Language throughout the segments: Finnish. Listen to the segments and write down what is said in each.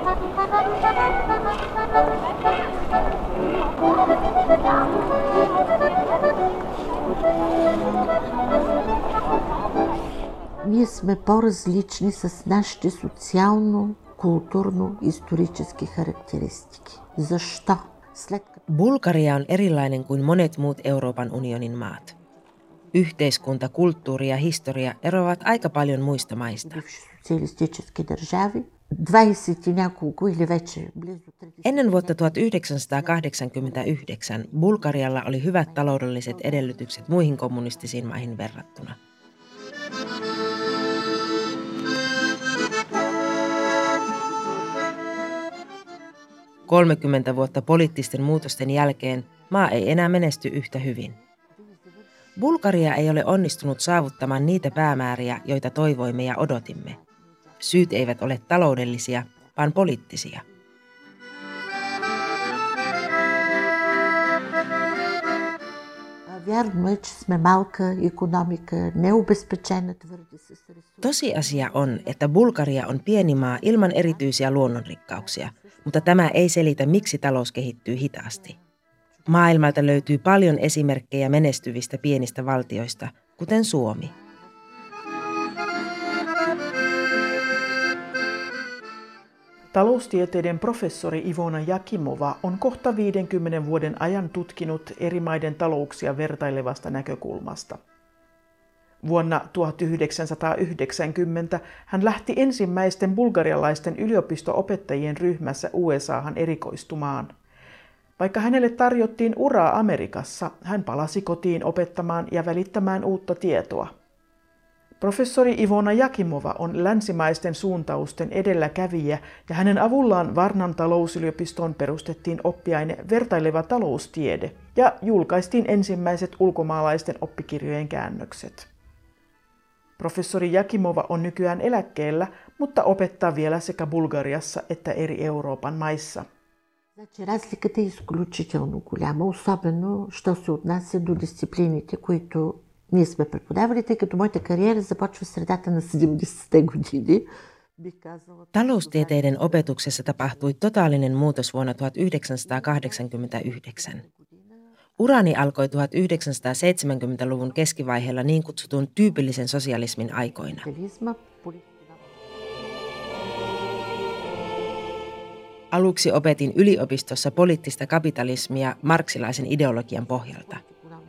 Ние сме по-различни с нашите социално, kulttuurno-исторически характеристики. Защо? Bulgaria on erilainen kuin monet muut Euroopan unionin maat. Yhteiskunta, kulttuuri ja historia eroavat aika paljon muista maista. Ennen vuotta 1989 Bulgarialla oli hyvät taloudelliset edellytykset muihin kommunistisiin maihin verrattuna. – 30 vuotta poliittisten muutosten jälkeen maa ei enää menesty yhtä hyvin. Bulgaria ei ole onnistunut saavuttamaan niitä päämääriä, joita toivoimme ja odotimme. Syyt eivät ole taloudellisia, vaan poliittisia. Tosiasia on, että Bulgaria on pieni maa ilman erityisiä luonnonrikkauksia, mutta tämä ei selitä, miksi talous kehittyy hitaasti. Maailmalta löytyy paljon esimerkkejä menestyvistä pienistä valtioista, kuten Suomi. Taloustieteiden professori Ivona Jakimova on kohta 50 vuoden ajan tutkinut eri maiden talouksia vertailevasta näkökulmasta. Vuonna 1990 hän lähti ensimmäisten bulgarialaisten yliopisto-opettajien ryhmässä USAhan erikoistumaan. Vaikka hänelle tarjottiin uraa Amerikassa, hän palasi kotiin opettamaan ja välittämään uutta tietoa. Professori Ivona Jakimova on länsimaisten suuntausten edelläkävijä ja hänen avullaan Varnan talousyliopistoon perustettiin oppiaine vertaileva taloustiede ja julkaistiin ensimmäiset ulkomaalaisten oppikirjojen käännökset. Professori Jakimova on nykyään eläkkeellä, mutta opettaa vielä sekä Bulgariassa että eri Euroopan maissa. Разликата е изключително голяма, особено що се отнася до дисциплините, които ние сме преподавали, тъй като моята кариера започва в средата на 70-те години. Taloustieteiden opetuksessa tapahtui totaalinen muutos vuonna 1989. Urani alkoi 1970-luvun keskivaiheella niin kutsutun tyypillisen sosialismin aikoina. Aluksi opetin yliopistossa poliittista kapitalismia marksilaisen ideologian pohjalta.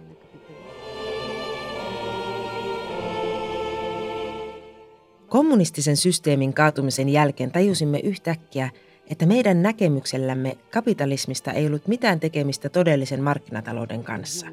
Kommunistisen systeemin kaatumisen jälkeen tajusimme yhtäkkiä, että meidän näkemyksellämme kapitalismista ei ollut mitään tekemistä todellisen markkinatalouden kanssa.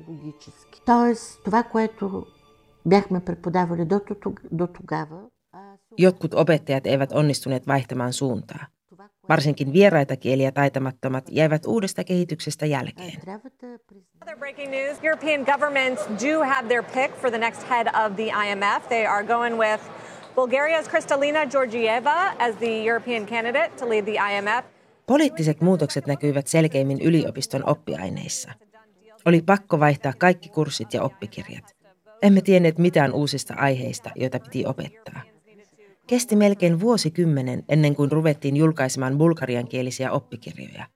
Jotkut opettajat eivät onnistuneet vaihtamaan suuntaa. Varsinkin vieraita kieliä taitamattomat jäivät uudesta kehityksestä jälkeen. Other breaking news, European governments do have their pick for the next head of the IMF. They are going with Bulgaria's Kristalina Georgieva as the European candidate to lead the IMF. Poliittiset muutokset näkyivät selkeimmin yliopiston oppiaineissa. Oli pakko vaihtaa kaikki kurssit ja oppikirjat. Emme tienneet mitään uusista aiheista, joita piti opettaa. Kesti melkein vuosikymmenen ennen kuin ruvettiin julkaisemaan bulgariankielisiä oppikirjoja.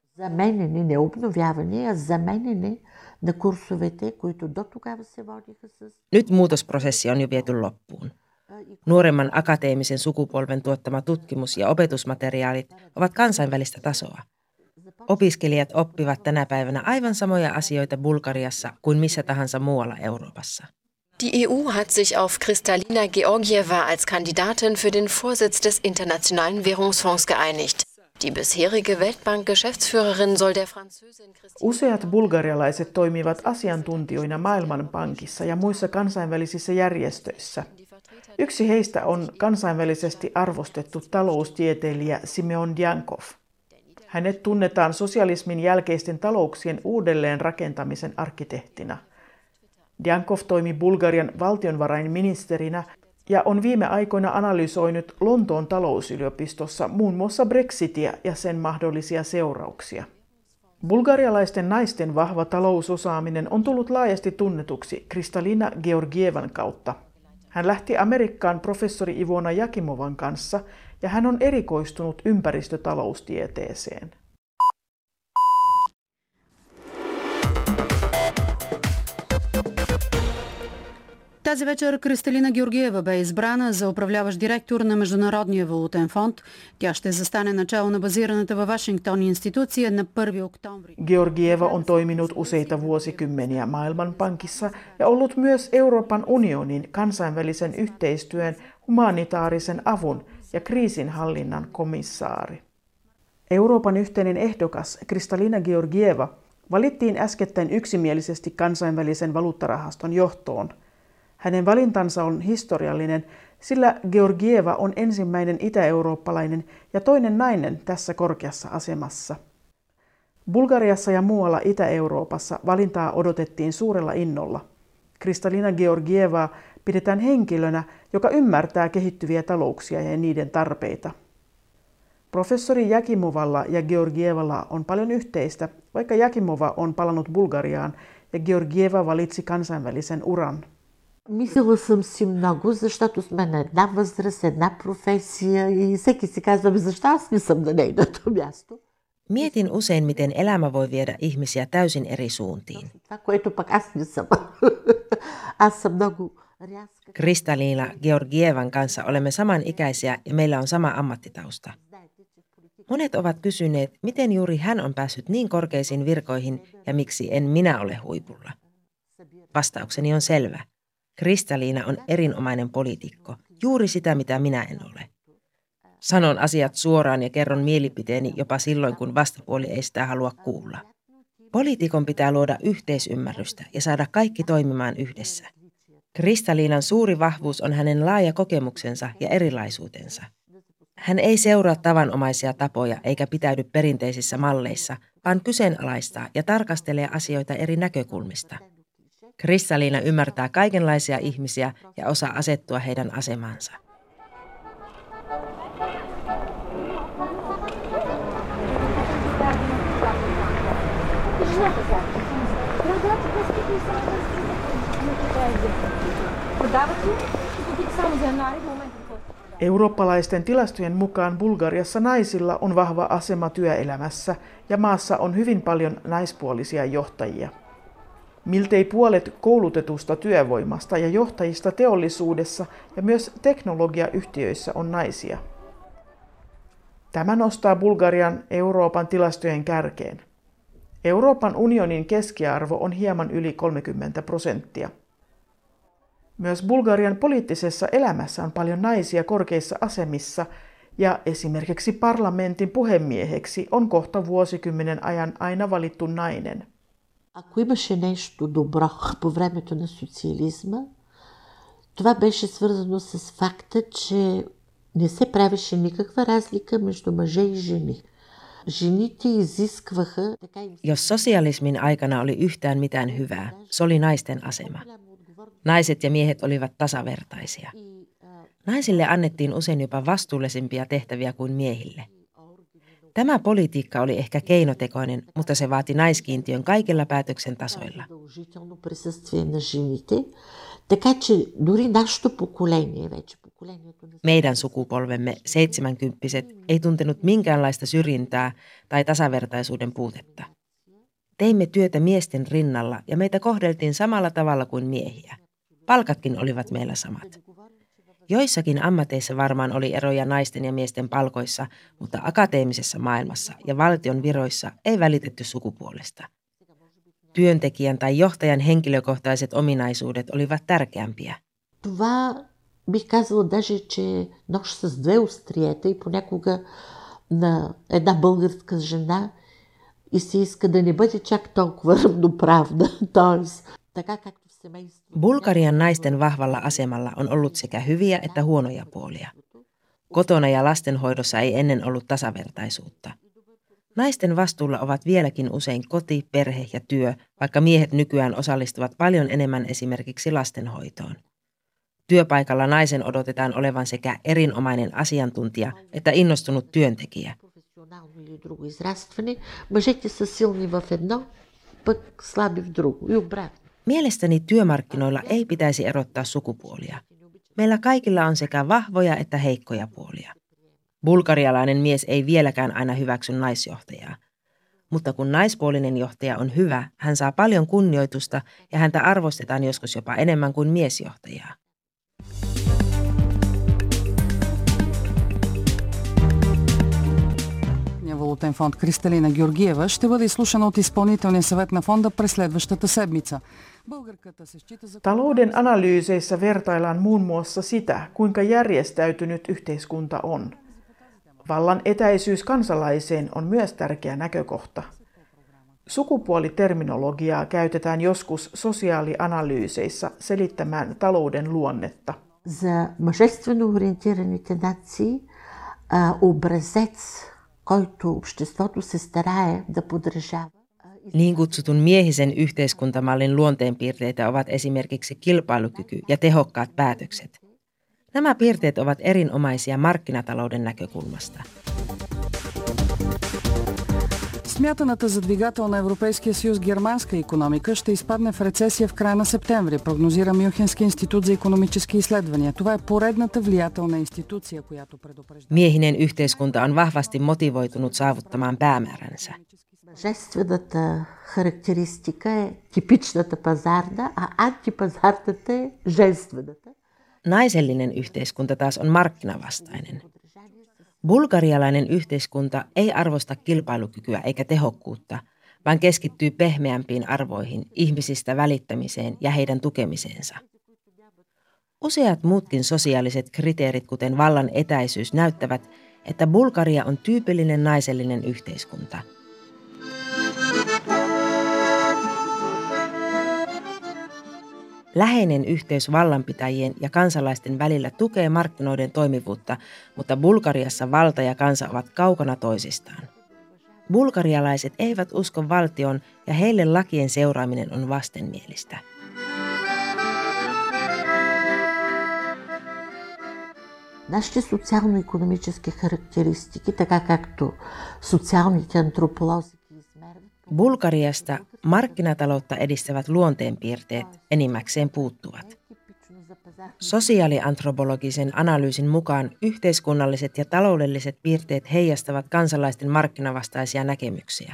Nyt muutosprosessi on jo viety loppuun. Nuoremman akateemisen sukupolven tuottama tutkimus- ja opetusmateriaalit ovat kansainvälistä tasoa. Opiskelijat oppivat tänä päivänä aivan samoja asioita Bulgariassa kuin missä tahansa muualla Euroopassa. Die EU hat sich auf Kristalina Georgieva als Kandidatin für den Vorsitz des Internationalen Währungsfonds geeinigt. Die bisherige Weltbank-Geschäftsführerin soll der Französin Useat bulgarialaiset toimivat asiantuntijoina Maailmanpankissa ja muissa kansainvälisissä järjestöissä. Yksi heistä on kansainvälisesti arvostettu taloustieteilijä Simeon Djankov. Hänet tunnetaan sosialismin jälkeisten talouksien uudelleenrakentamisen arkkitehtina. Djankov toimi Bulgarian valtionvarainministerinä ja on viime aikoina analysoinut Lontoon talousyliopistossa muun muassa Brexitia ja sen mahdollisia seurauksia. Bulgarialaisten naisten vahva talousosaaminen on tullut laajasti tunnetuksi Kristalina Georgievan kautta. Hän lähti Amerikkaan professori Ivona Jakimovan kanssa ja hän on erikoistunut ympäristötaloustieteeseen. Тази вечер Кристалина Георгиева бе избрана за управляващ директор на Международния валутен фонд. Тя ще застане начало на базираната във Вашингтон институция на 1. октомври. Georgieva on toiminut useita vuosikymmeniä Maailmanpankissa ja ollut myös Euroopan unionin kansainvälisen yhteistyön, humanitaarisen avun ja kriisinhallinnan komissaari. Euroopan yhteinen ehdokas Kristalina Georgieva valittiin äskettäin yksimielisesti kansainvälisen valuuttarahaston johtoon. Hänen valintansa on historiallinen, sillä Georgieva on ensimmäinen itä-eurooppalainen ja toinen nainen tässä korkeassa asemassa. Bulgariassa ja muualla Itä-Euroopassa valintaa odotettiin suurella innolla. Kristalina Georgievaa pidetään henkilönä, joka ymmärtää kehittyviä talouksia ja niiden tarpeita. Professori Jakimovalla ja Georgievalla on paljon yhteistä, vaikka Jakimova on palannut Bulgariaan ja Georgieva valitsi kansainvälisen uran. Мислила съм си много, защото сме на една възраст, една професия и всеки си казва, защо аз не съм на нейното място. Mietin usein, miten elämä voi viedä ihmisiä täysin eri suuntiin. Това, което пък аз не съм. Аз съм много рязка. Kristalina Georgievan kanssa olemme samanikäisiä ja meillä on sama ammattitausta. Monet ovat kysyneet, miten juuri hän on päässyt niin korkeisiin virkoihin ja miksi en minä ole huipulla. Vastaukseni on selvä. Kristalina on erinomainen poliitikko, juuri sitä mitä minä en ole. Sanon asiat suoraan ja kerron mielipiteeni jopa silloin, kun vastapuoli ei sitä halua kuulla. Poliitikon pitää luoda yhteisymmärrystä ja saada kaikki toimimaan yhdessä. Kristalinan suuri vahvuus on hänen laaja kokemuksensa ja erilaisuutensa. Hän ei seuraa tavanomaisia tapoja eikä pitäydy perinteisissä malleissa, vaan kyseenalaistaa ja tarkastelee asioita eri näkökulmista. Kristalina ymmärtää kaikenlaisia ihmisiä ja osaa asettua heidän asemaansa. Eurooppalaisten tilastojen mukaan Bulgariassa naisilla on vahva asema työelämässä ja maassa on hyvin paljon naispuolisia johtajia. Miltei puolet koulutetusta työvoimasta ja johtajista teollisuudessa ja myös teknologiayhtiöissä on naisia. Tämä nostaa Bulgarian Euroopan tilastojen kärkeen. Euroopan unionin keskiarvo on hieman yli 30%. Myös Bulgarian poliittisessa elämässä on paljon naisia korkeissa asemissa ja esimerkiksi parlamentin puhemieheksi on kohta vuosikymmenen ajan aina valittu nainen. Ако имаше нещо добро по времето на социализма, това беше свързано с факта, че не се правеше никаква разлика между мъже и жени. Жените изискваха... Jos sosialismin aikana oli yhtään mitään hyvää, se oli naisten asema. Naiset ja miehet olivat tasavertaisia. Naisille annettiin usein jopa vastuullisempia tehtäviä kuin miehille. Tämä politiikka oli ehkä keinotekoinen, mutta se vaati naiskiintiön kaikilla päätöksen tasoilla. Meidän sukupolvemme, 70-vuotiaat, ei tuntenut minkäänlaista syrjintää tai tasavertaisuuden puutetta. Teimme työtä miesten rinnalla ja meitä kohdeltiin samalla tavalla kuin miehiä. Palkatkin olivat meillä samat. Joissakin ammateissa varmaan oli eroja naisten ja miesten palkoissa, mutta akateemisessa maailmassa ja valtion viroissa ei välitetty sukupuolesta. Työntekijän tai johtajan henkilökohtaiset ominaisuudet olivat tärkeämpiä. Това бих казала даже, че нож с две остриета и понякога на една българска жена и се иска да не бъде чак толкова равноправна. Тоест, така както в семейството. Bulgarian naisten vahvalla asemalla on ollut sekä hyviä että huonoja puolia. Kotona ja lastenhoidossa ei ennen ollut tasavertaisuutta. Naisten vastuulla ovat vieläkin usein koti, perhe ja työ, vaikka miehet nykyään osallistuvat paljon enemmän esimerkiksi lastenhoitoon. Työpaikalla naisen odotetaan olevan sekä erinomainen asiantuntija että innostunut työntekijä. Mielestäni työmarkkinoilla ei pitäisi erottaa sukupuolia. Meillä kaikilla on sekä vahvoja että heikkoja puolia. Bulgarialainen mies ei vieläkään aina hyväksy naisjohtajaa. Mutta kun naispuolinen johtaja on hyvä, hän saa paljon kunnioitusta ja häntä arvostetaan joskus jopa enemmän kuin miesjohtajaa. Валутен фонд Кристалина Георгиева ще бъде изслушана от изпълнителния съвет на фонда през следващата седмица. Talouden analyyseissä vertaillaan muun muassa sitä, kuinka järjestäytynyt yhteiskunta on. Vallan etäisyys kansalaiseen on myös tärkeä näkökohta. Sukupuoliterminologiaa käytetään joskus sosiaalianalyyseissä selittämään talouden luonnetta. За мъжествено ориентираните нации образец, който обществото се старае да подражава. Niin kutsutun miehisen yhteiskuntamallin luonteenpiirteitä ovat esimerkiksi kilpailukyky ja tehokkaat päätökset. Nämä piirteet ovat erinomaisia markkinatalouden näkökulmasta. Смятаната за двигател на Европейския съюз германска икономика ще изпадне в рецесия в края на септември, прогнозира Мюнхенски институт за икономически изследвания. Това е поредната влиятелна институция, която предупреждава. Miehinen yhteiskunta on vahvasti motivoitunut saavuttamaan päämääränsä. Мъжествената характеристика е типичната пазарна, а антипазарната е женствената. Naisellinen yhteiskunta taas on markkinavastainen. Bulgarialainen yhteiskunta ei arvosta kilpailukykyä eikä tehokkuutta, vaan keskittyy pehmeämpiin arvoihin, ihmisistä välittämiseen ja heidän tukemiseensa. Useat muutkin sosiaaliset kriteerit, kuten vallan etäisyys, näyttävät, että Bulgaria on tyypillinen naisellinen yhteiskunta. Läheinen yhteys vallanpitäjien ja kansalaisten välillä tukee markkinoiden toimivuutta, mutta Bulgariassa valta ja kansa ovat kaukana toisistaan. Bulgarialaiset eivät usko valtioon ja heille lakien seuraaminen on vastenmielistä. Нашите социално-икономически характеристики, така както социалните антрополози ги измерват. Bulgariasta markkinataloutta edistävät luonteenpiirteet enimmäkseen puuttuvat. Sosiaaliantropologisen analyysin mukaan yhteiskunnalliset ja taloudelliset piirteet heijastavat kansalaisten markkinavastaisia näkemyksiä.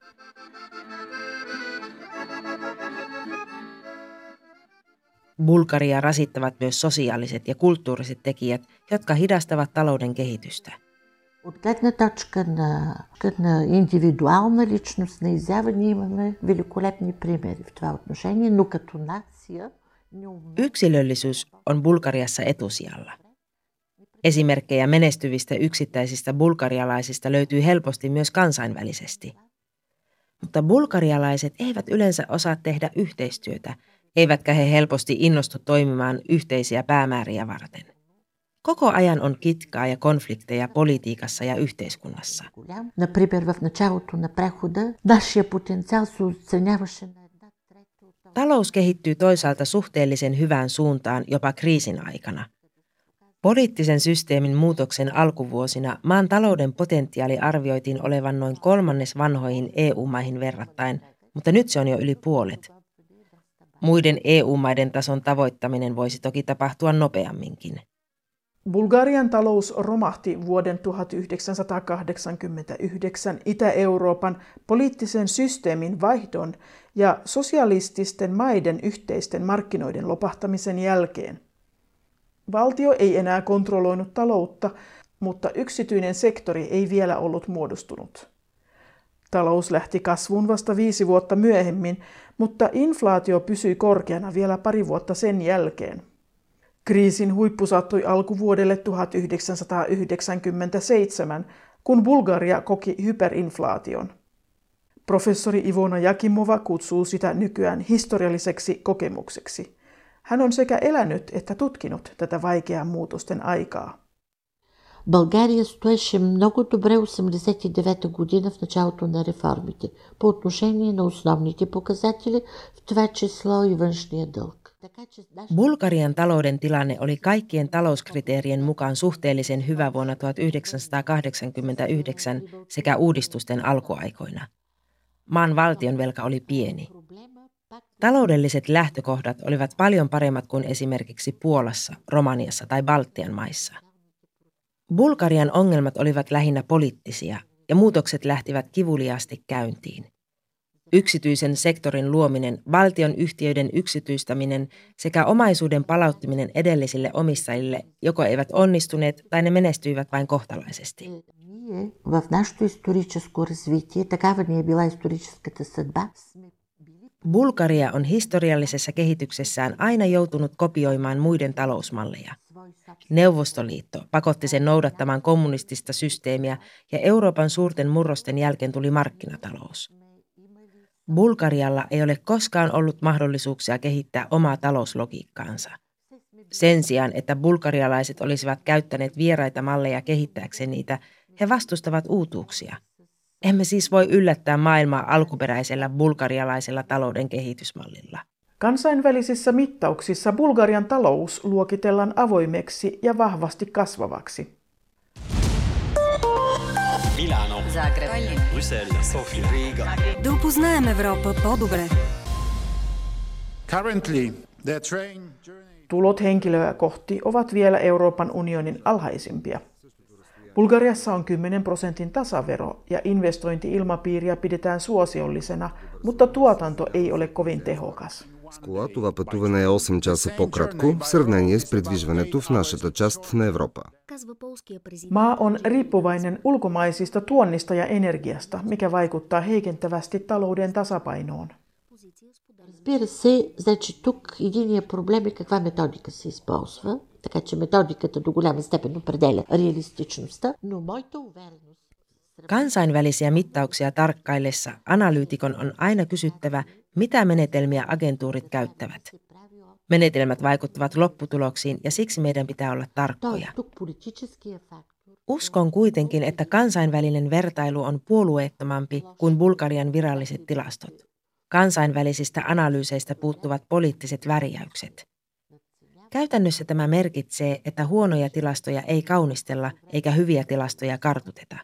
Bulgaria rasittavat myös sosiaaliset ja kulttuuriset tekijät, jotka hidastavat talouden kehitystä. От гледна точка на индивидуална личностна изява ние имаме великолепни примери в това отношение, но като нация не умеем. Yksilöllisyys on Bulgariassa etusijalla. Esimerkkejä menestyvistä yksittäisistä bulgarialaisista löytyy helposti myös kansainvälisesti. Mutta bulgarialaiset eivät yleensä osaa tehdä yhteistyötä, eivätkä he helposti innostu toimimaan yhteisiä päämääriä varten. Koko ajan on kitkaa ja konflikteja politiikassa ja yhteiskunnassa. Например, в началото на прехода нашия потенциал се оценяваше на 1/3. Talous kehittyy toisaalta suhteellisen hyvään suuntaan jopa kriisin aikana. Poliittisen systeemin muutoksen alkuvuosina maan talouden potentiaali arvioitiin olevan noin 1/3 vanhoihin EU-maihin verrattain, mutta nyt se on jo yli puolet. Muiden EU-maiden tason tavoittaminen voisi toki tapahtua nopeamminkin. Bulgarian talous romahti vuoden 1989 Itä-Euroopan poliittisen systeemin vaihdon ja sosialististen maiden yhteisten markkinoiden lopahtamisen jälkeen. Valtio ei enää kontrolloinut taloutta, mutta yksityinen sektori ei vielä ollut muodostunut. Talous lähti kasvuun vasta 5 vuotta myöhemmin, mutta inflaatio pysyi korkeana vielä pari vuotta sen jälkeen. Kriisin huippu sattui alkuvuodelle 1997, kun Bulgaria koki hyperinflaation. Professori Ivona Jakimova kutsuu sitä nykyään historialliseksi kokemukseksi. Hän on sekä elänyt että tutkinut tätä vaikeaa muutosten aikaa. България стоеше много добре 1989 година в началото на реформите по отношение на основните показатели, в това число и външния дълг. Bulgarian talouden tilanne oli kaikkien talouskriteerien mukaan suhteellisen hyvä vuonna 1989 sekä uudistusten alkuaikoina. Maan valtionvelka oli pieni. Taloudelliset lähtökohdat olivat paljon paremmat kuin esimerkiksi Puolassa, Romaniassa tai Baltian maissa. Bulgarian ongelmat olivat lähinnä poliittisia ja muutokset lähtivät kivuliaasti käyntiin. Yksityisen sektorin luominen, valtion yhtiöiden yksityistäminen sekä omaisuuden palauttaminen edellisille omistajille joko eivät onnistuneet tai ne menestyivät vain kohtalaisesti. Bulgaria on historiallisessa kehityksessään aina joutunut kopioimaan muiden talousmalleja. Neuvostoliitto pakotti sen noudattamaan kommunistista systeemiä ja Euroopan suurten murrosten jälkeen tuli markkinatalous. Bulgarialla ei ole koskaan ollut mahdollisuuksia kehittää omaa talouslogiikkaansa. Sen sijaan, että bulgarialaiset olisivat käyttäneet vieraita malleja kehittääkseen niitä, he vastustavat uutuuksia. Emme siis voi yllättää maailmaa alkuperäisellä bulgarialaisella talouden kehitysmallilla. Kansainvälisissä mittauksissa Bulgarian talous luokitellaan avoimeksi ja vahvasti kasvavaksi. Milano, Zagreb, Bruxelles, Sofia, Riga. Да упознаем Европа по-добре. Currently, the train journey... Tulot henkilöä kohti ovat vielä Euroopan unionin alhaisimpia. Bulgariassa on 10% tasavero ja investointi-ilmapiiriä pidetään suosiollisena, mutta tuotanto ei ole kovin tehokas. С кола това пътуване е 8 часа по-кратко в сравнение с придвижването в нашата част на Европа. Maa on riippuvainen ulkomaisista tuonnista ja energiasta, mikä vaikuttaa heikentävästi talouden tasapainoon. Разбира се, значи тук единият проблем е каква методика се използва, така че методиката до голяма степен определя реалистичността, но моята увереност... Kansainvälisiä mittauksia tarkkaillessa analyytikon on aina kysyttävä, mitä menetelmiä agentuurit käyttävät. Menetelmät vaikuttavat lopputuloksiin ja siksi meidän pitää olla tarkkoja. Uskon kuitenkin, että kansainvälinen vertailu on puolueettomampi kuin Bulgarian viralliset tilastot. Kansainvälisistä analyyseistä puuttuvat poliittiset värjäykset. Käytännössä tämä merkitsee, että huonoja tilastoja ei kaunistella eikä hyviä tilastoja kartuteta.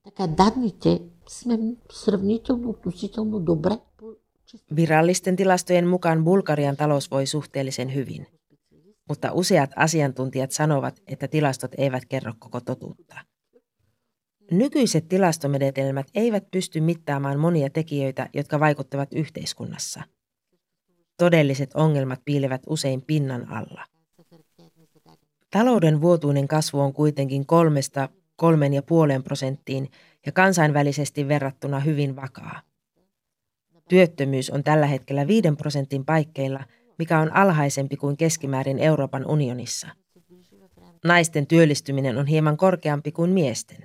Virallisten tilastojen mukaan Bulgarian talous voi suhteellisen hyvin, mutta useat asiantuntijat sanovat, että tilastot eivät kerro koko totuutta. Nykyiset tilastomenetelmät eivät pysty mittaamaan monia tekijöitä, jotka vaikuttavat yhteiskunnassa. Todelliset ongelmat piilevät usein pinnan alla. Talouden vuotuinen kasvu on kuitenkin 3–3,5% ja kansainvälisesti verrattuna hyvin vakaa. Työttömyys on tällä hetkellä 5% paikkeilla, mikä on alhaisempi kuin keskimäärin Euroopan unionissa. Naisten työllistyminen on hieman korkeampi kuin miesten.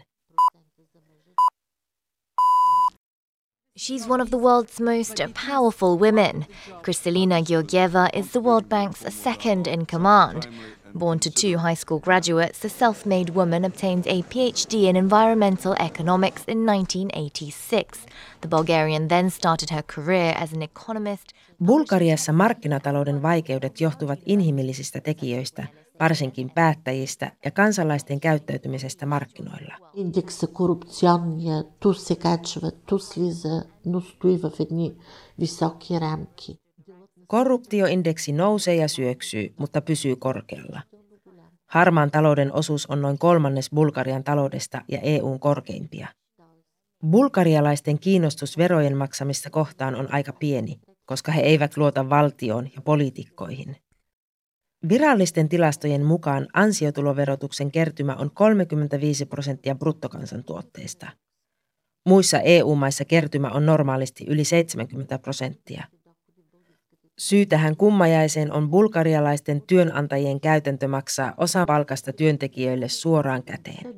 She's one of the world's most powerful women. Kristalina Georgieva is the World Bank's second in command. Born to two high school graduates, the self-made woman obtained a PhD in environmental economics in 1986. The Bulgarian then started her career as an economist. Bulgariassa markkinatalouden vaikeudet johtuvat inhimillisistä tekijöistä, varsinkin päättäjistä ja kansalaisten käyttäytymisestä markkinoilla. Индекса корупционния ту се качва, ту слиза, но стои в едни високи рамки. Korruptioindeksi nousee ja syöksyy, mutta pysyy korkealla. Harmaan talouden osuus on noin 1/3 Bulgarian taloudesta ja EU:n korkeimpia. Bulgarialaisten kiinnostus verojen maksamista kohtaan on aika pieni, koska he eivät luota valtioon ja poliitikkoihin. Virallisten tilastojen mukaan ansiotuloverotuksen kertymä on 35% bruttokansantuotteesta. Muissa EU-maissa kertymä on normaalisti yli 70%. Syy tähän kummajaiseen on bulgarialaisten työnantajien käytäntö maksaa osa palkasta työntekijöille suoraan käteen.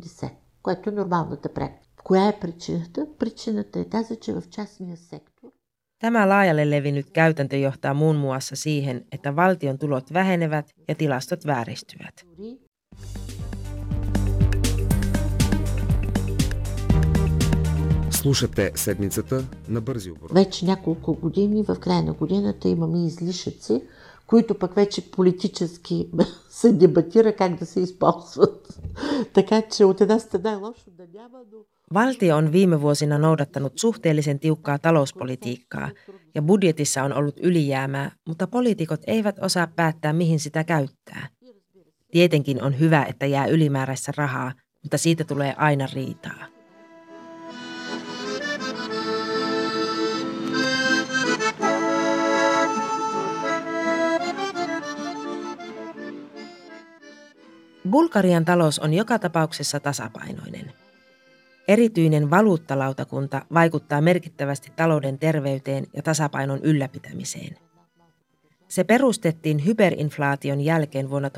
Tämä laajalle levinnyt käytäntö johtaa muun muassa siihen, että valtion tulot vähenevät ja tilastot vääristyvät. Слушате седмицата на бързи обороти. Вече няколко години в края на годината имаме излишъци, които пък вече политически се дебатира как да се използват. Така че от една страна е лошо да няма, но... Valtio on viime vuosina noudattanut suhteellisen tiukkaa talouspolitiikkaa, ja budjetissa on ollut ylijäämää, mutta poliitikot eivät osaa päättää, mihin sitä käyttää. Tietenkin on hyvä, että jää ylimääräistä rahaa, mutta siitä tulee aina riitaa. Bulgarian talous on joka tapauksessa tasapainoinen. Erityinen valuuttalautakunta vaikuttaa merkittävästi talouden terveyteen ja tasapainon ylläpitämiseen. Se perustettiin hyperinflaation jälkeen vuonna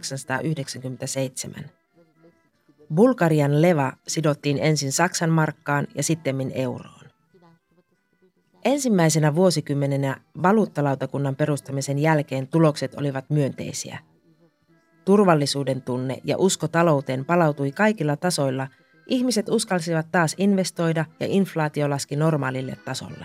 1997. Bulgarian leva sidottiin ensin Saksan markkaan ja sittemmin euroon. Ensimmäisenä vuosikymmenenä valuuttalautakunnan perustamisen jälkeen tulokset olivat myönteisiä. Turvallisuuden tunne ja usko talouteen palautui kaikilla tasoilla. Ihmiset uskalsivat taas investoida ja inflaatio laski normaalille tasolle.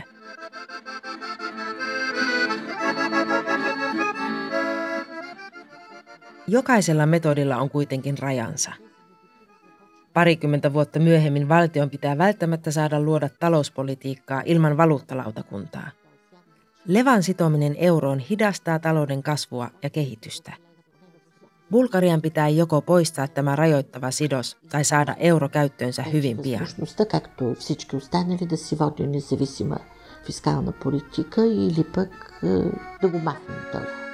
Jokaisella metodilla on kuitenkin rajansa. Parikymmentä vuotta myöhemmin valtion pitää välttämättä saada luoda talouspolitiikkaa ilman valuuttalautakuntaa. Levan sitominen euroon hidastaa talouden kasvua ja kehitystä. Bulgarian pitää joko poistaa tämä rajoittava sidos tai saada euro käyttöönsä hyvin pian. Фискална политика или пък да го махнем.